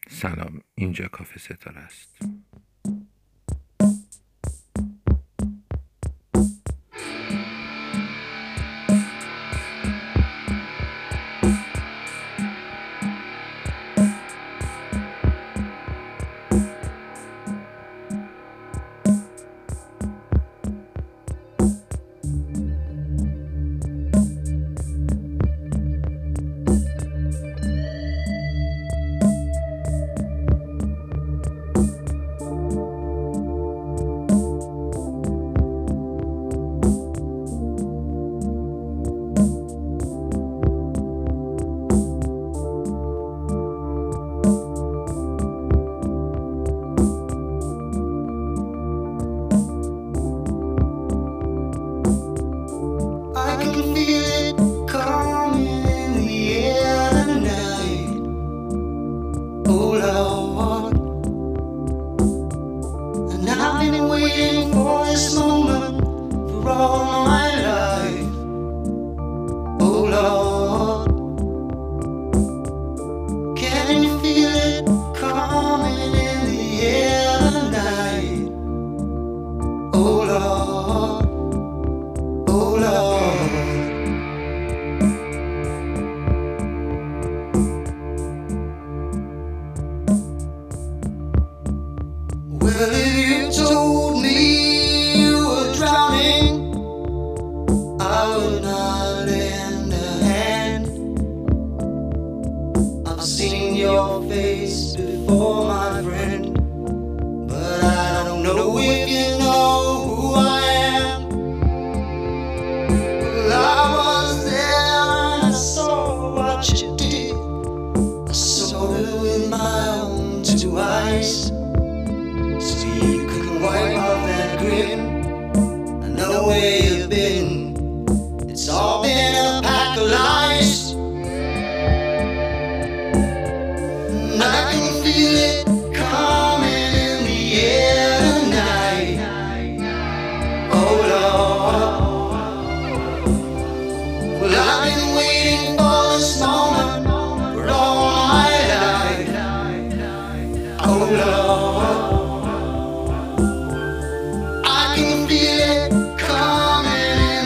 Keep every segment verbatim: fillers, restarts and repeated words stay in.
سلام، اینجا کافه ستاره است. Well, if you told me you were drowning, I would not lend a hand. I've seen your face before, my friend, but I don't know if you know who I am. Well, I was there and I saw what you did. I saw it with my own two eyes. Wipe off that grin. I know where you've been. It's all been a pack of lies, and I can feel it coming in the air tonight. Oh Lord, well I've been waiting for this moment for all my life. Oh Lord, I can feel it coming in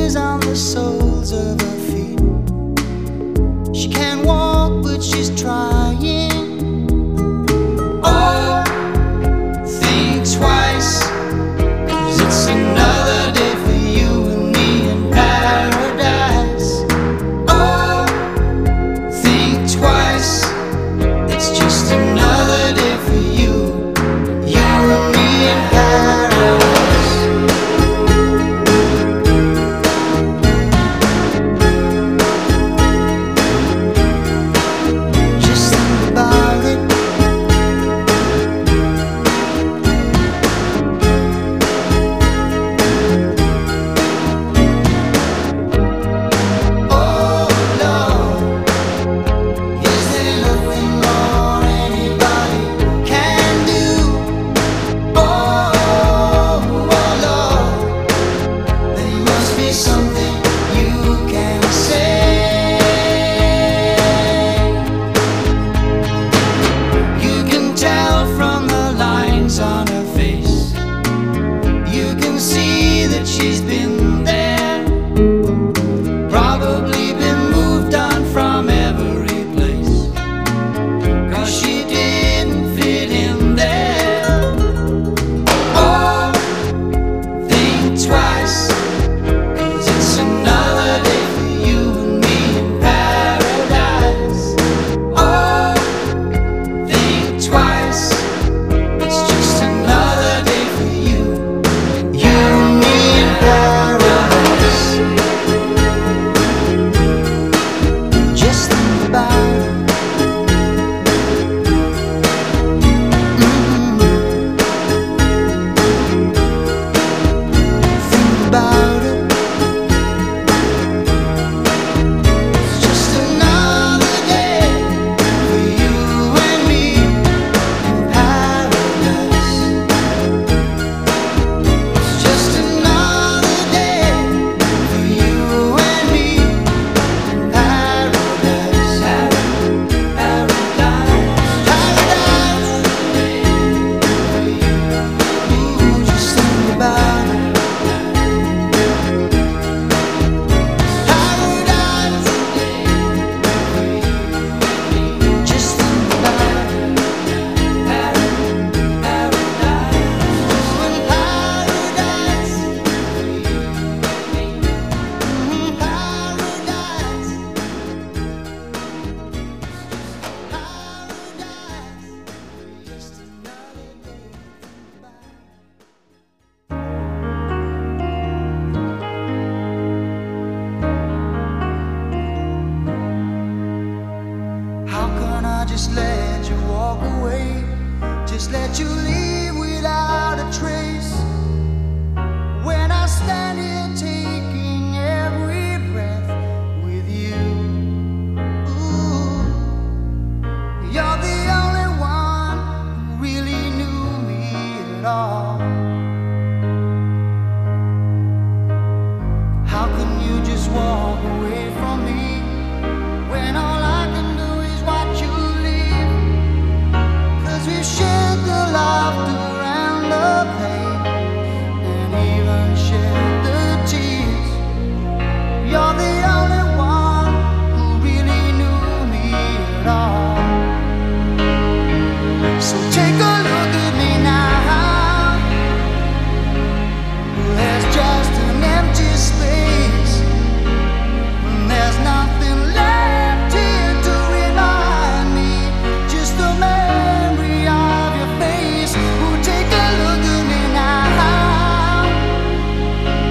is on the soles of her feet. She can't walk, but she's trying. Oh, think twice, 'cause it's another day for you and me in paradise. Oh, think twice, it's just another day for you, you and me in paradise. Just think about it. Oh Lord, is there nothing more anybody can do? Oh, oh Lord, there must be something you can say. You can tell from the lines on her face. You can see that she's been there, probably been moved on from every place, 'cause she didn't fit in there. Oh, think twice, 'cause it's another day for you and me in paradise. Oh, think twice, it's just another day for you, you and me in paradise. Just think about it. Mhm. Think about it. It's just another day for you and me in paradise. It's just another day for you and me in paradise. Paradise, paradise. Ooh, just think about it. Paradise. Just think about it. Paradise. Ooh, in paradise. Mm, paradise. Paradise. Just another day. How can I just let you walk away? Just let you leave without a trace. When I stand here taking every breath with you. Ooh, you're the only one who really knew me at all. How can you just walk away from me when all I can do is watch you leave? 'Cause we've shared the laughter and the pain, and even shared the tears. You're the only one who really knew me at all. So take a look at me now. There's just an empty space. There's nothing left here to remind me, just the memory of your face. Oh, take a look at me now.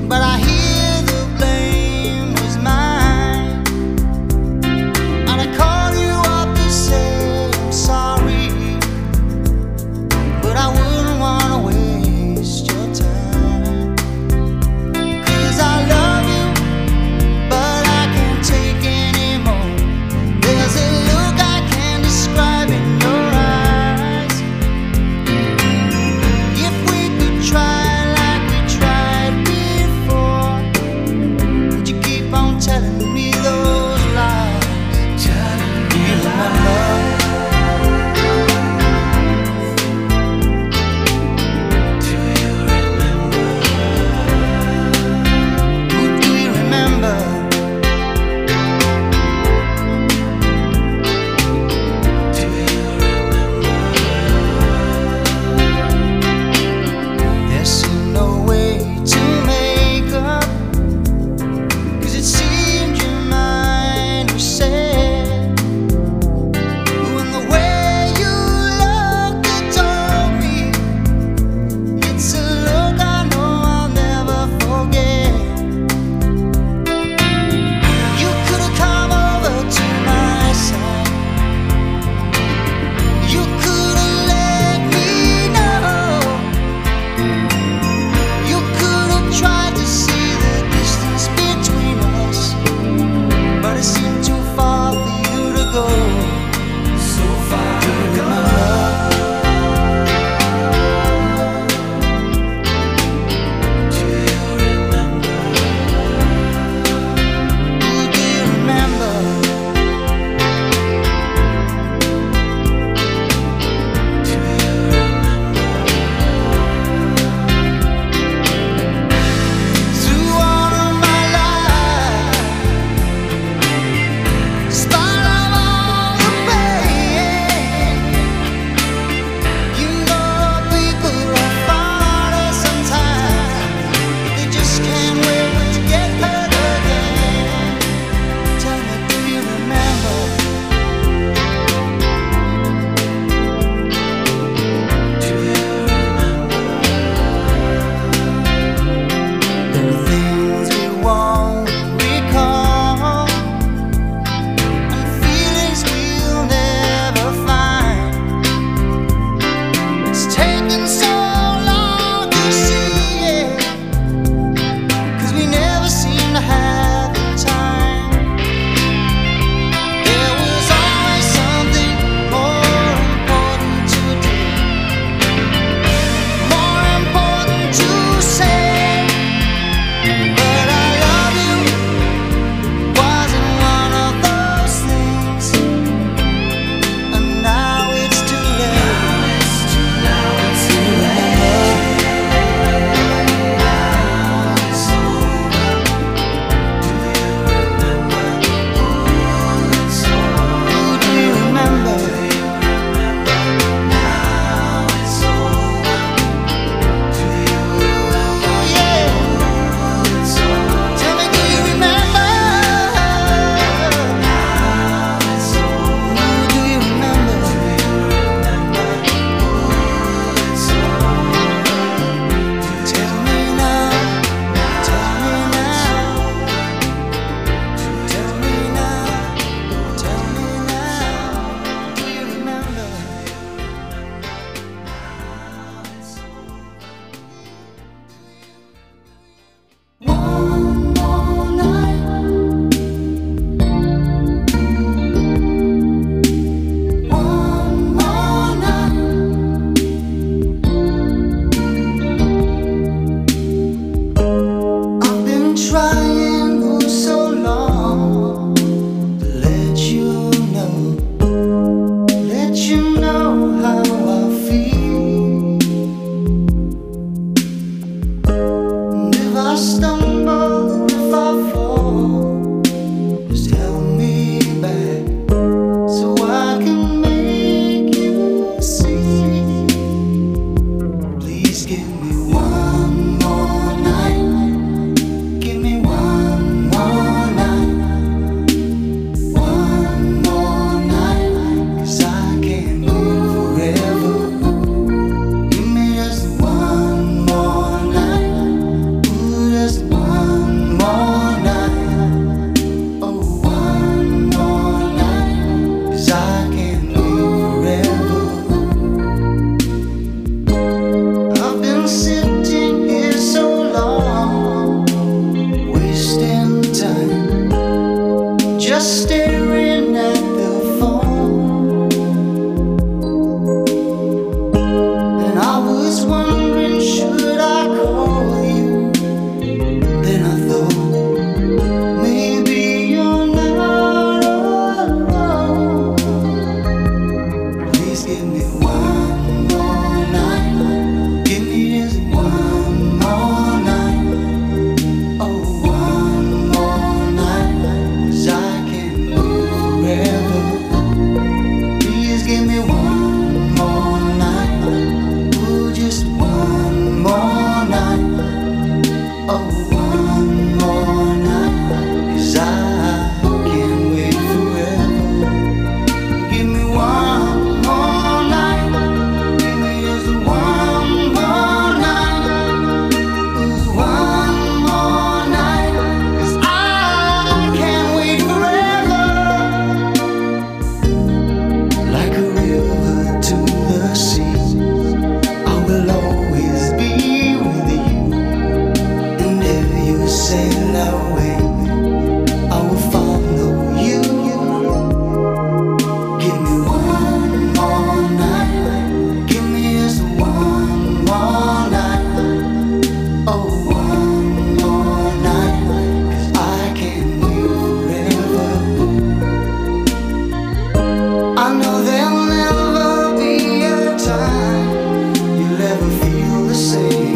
but I hear the blame was mine. And I call you up to say I'm sorry, but I wouldn't wanna waste your time. 'Cause I love you, but I can't take anymore. There's a look I can't describe in your eyes. If we could try like we tried before, would you keep on telling me those lies? Do you remember? Do you remember? Who do you remember? Do you remember? There seemed no way to make up, 'cause it seemed your mind was set. When the way you looked, it told me it's a look I know I'll never forget. You could have come over to my side. You could have let me know. You could have tried to see the distance between us, but it seemed too far for you to go. So far to go. Do you remember? Who do you remember? Do you remember? Through all of my life, spite of all the pain, you know people are funny sometimes. They just can't wait to get hurt again. Tell me, do you remember? Do you remember? There are things we won't recall, and feelings we'll never find. It's taken so long to see it, 'cause we never seem to have the time. There was always something more important to do, more important to say. But I love you wasn't one of those things, and now it's too late. Now it's too late. Now it's over. Do you remember? Ooh, it's over. Who do you remember? Now it's over. Do you remember? Yeah. It's over. Tell me, do you remember? Now it's over. Who do you remember? Do you remember? Ooh, it's over. Tell me now. Tell me now. Tell me now. Tell me now. Do you remember? One more night. One more night. I've been trying for so long to let you know, let you know how I feel. And if I stumble, if I fall, just help me back so I can make you see. Please give me one more night. Give me one more night. One more night. 'Cause I can't live forever. Give me just one more night. Ooh, just one sail away. I will follow you. Give me one more night. Give me just one more night. Oh, one more night. 'Cause I can't wait forever. I know there'll never be a time you'll ever feel the same.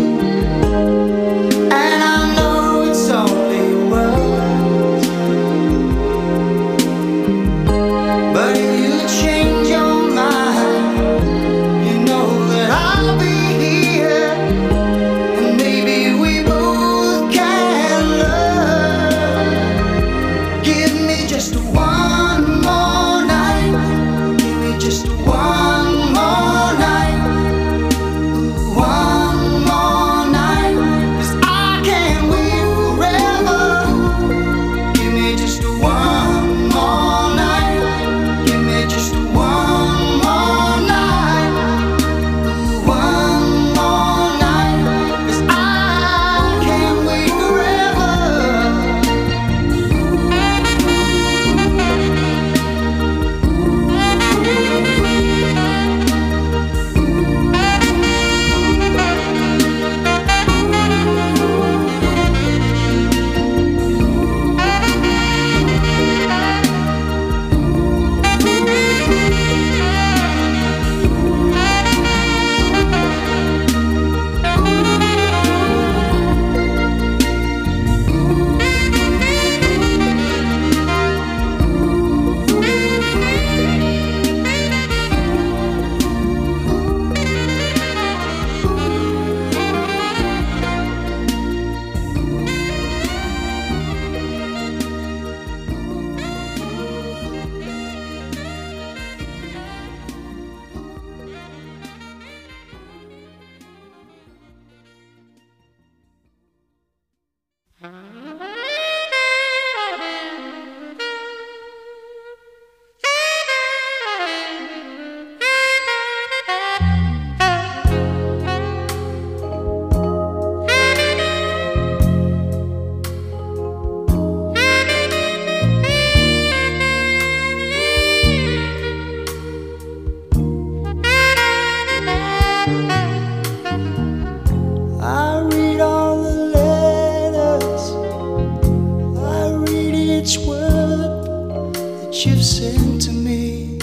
You've sent to me,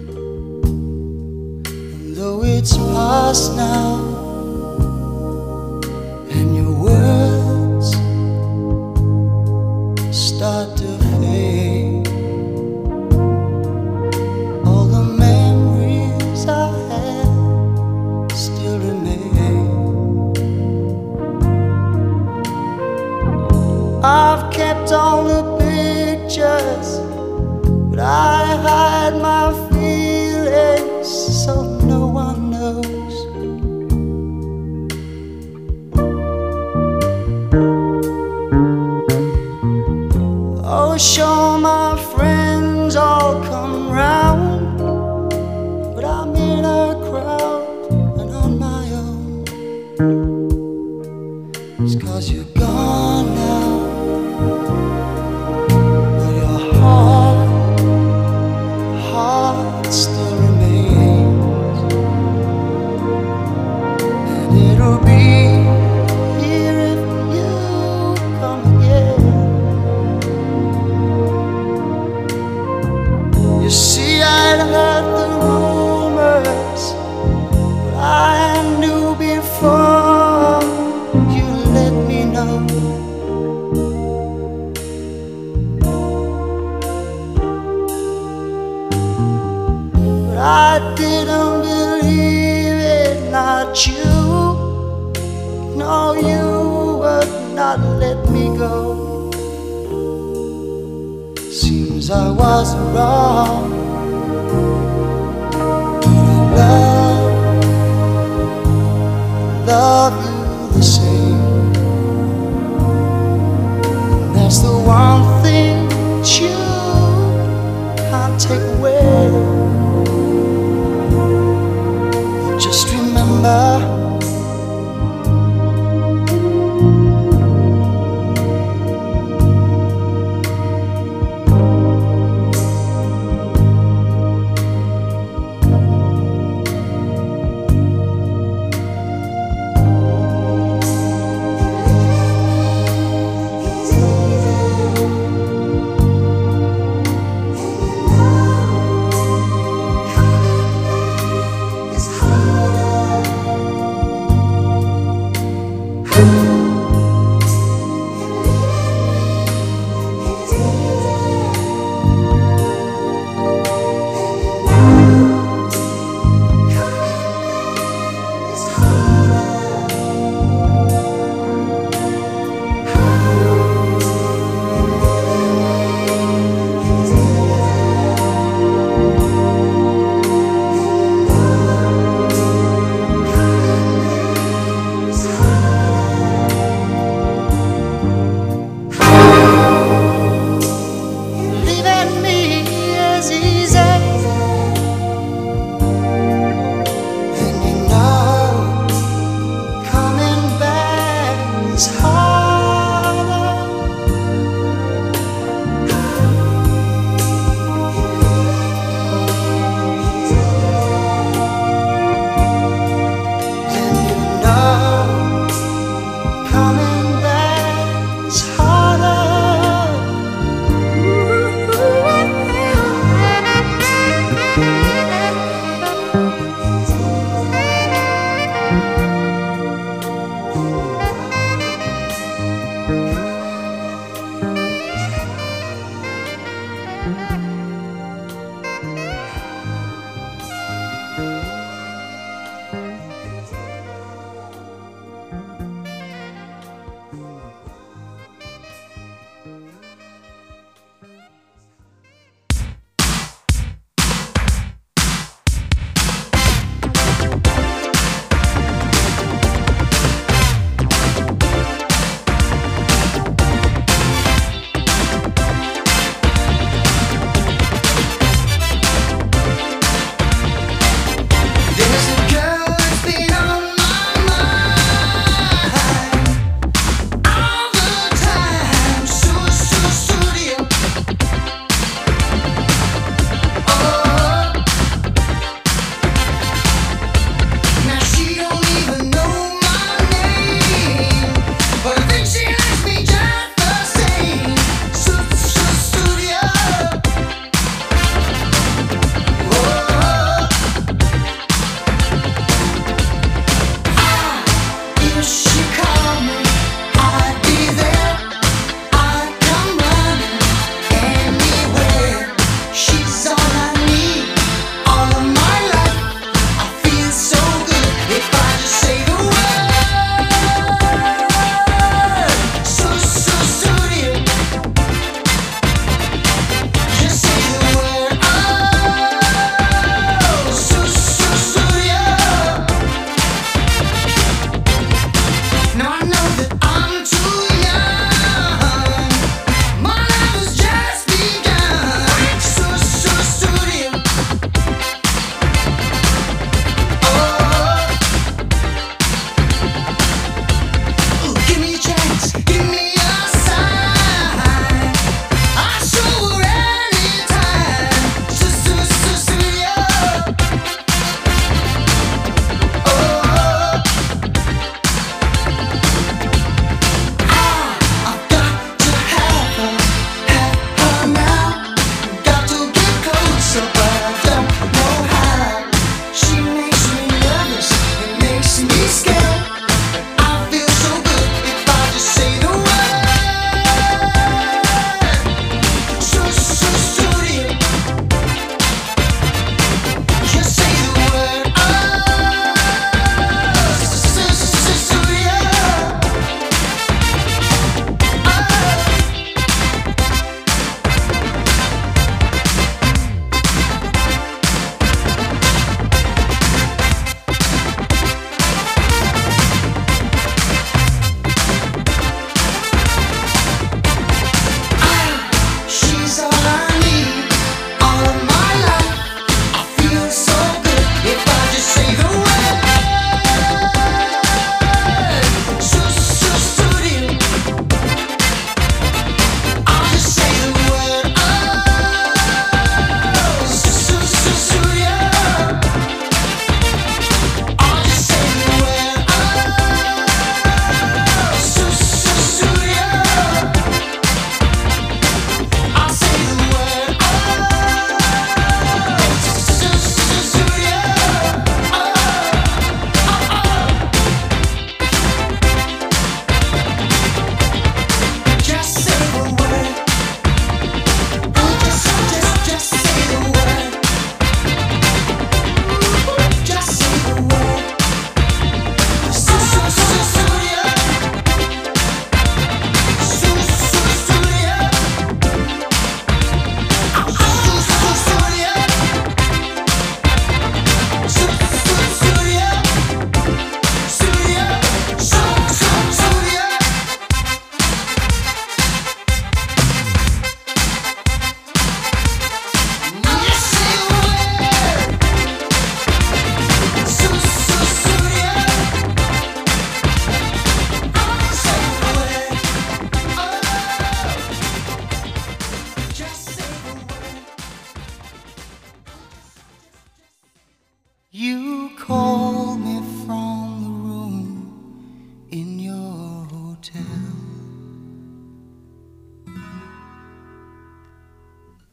and though it's past now, and your words start to fade, all the memories I had still remain. I've kept all the pictures, but I hide my feelings so no one knows. Oh, sure, my friends all come round, but I'm in a crowd and on my own. It's 'cause you're gone now. Still remains, and it'll be here if you come again. You see, I'd heard the rumors, but I knew before you let me know. I didn't believe it, not you. No, you would not let me go. Seems I was wrong. Love, love you the same. And that's the one thing that you can't take away. Just remember,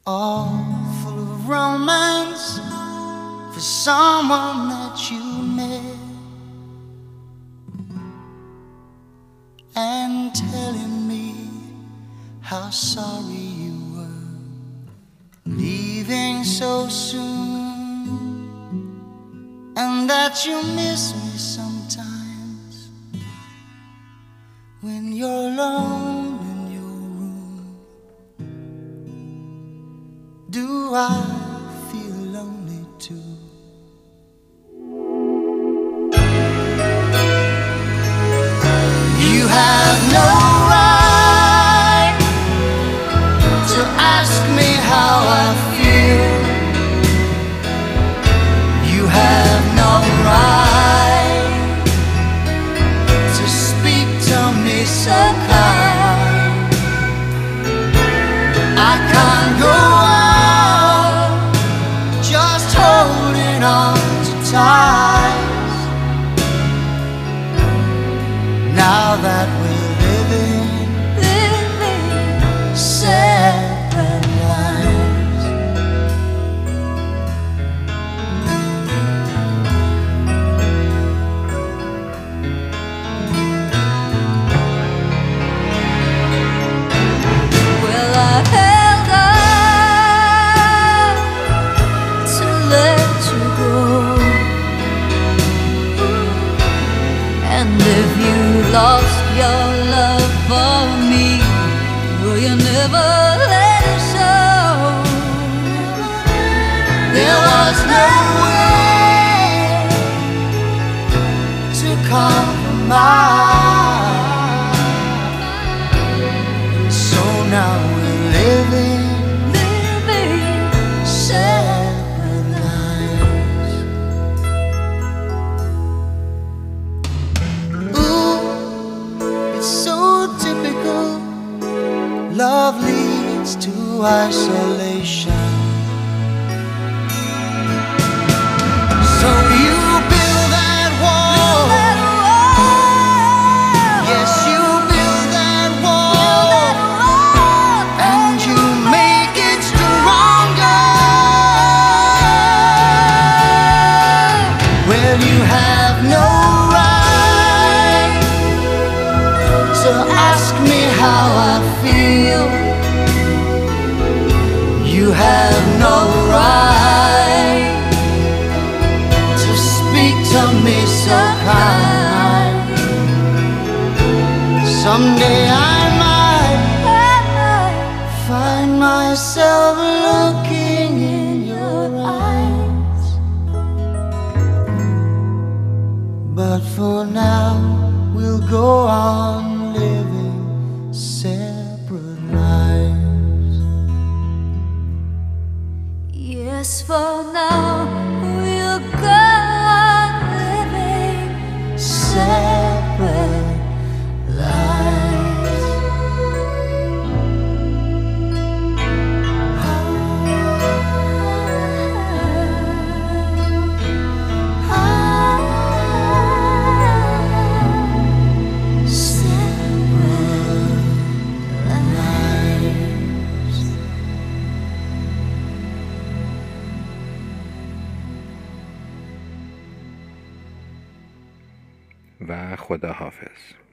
all full of romance for someone that you met, and telling me how sorry you were leaving so soon, and that you miss me sometimes when you're alone in your room. Do I feel lonely too? You have no right to ask me how I feel. You have no right to speak to me so kind. I can't go on just holding on to ties now that we're living, living separate lives. Well, I held on to let you go, and if you lost your love for me, will you never let it show? There was no way to compromise, and so now we're living, living separate lives. Ooh, it's so typical. Love leads to isolation. So you build that wall. Yes, you build that wall, and you make it stronger. Well, you have no right to ask me how I feel. You have no right to speak to me so kind. Someday I might find myself looking in your eyes, but for now we'll go on living separate lives. Yes, for now we'll go on living Separate lives. و خدا حافظ.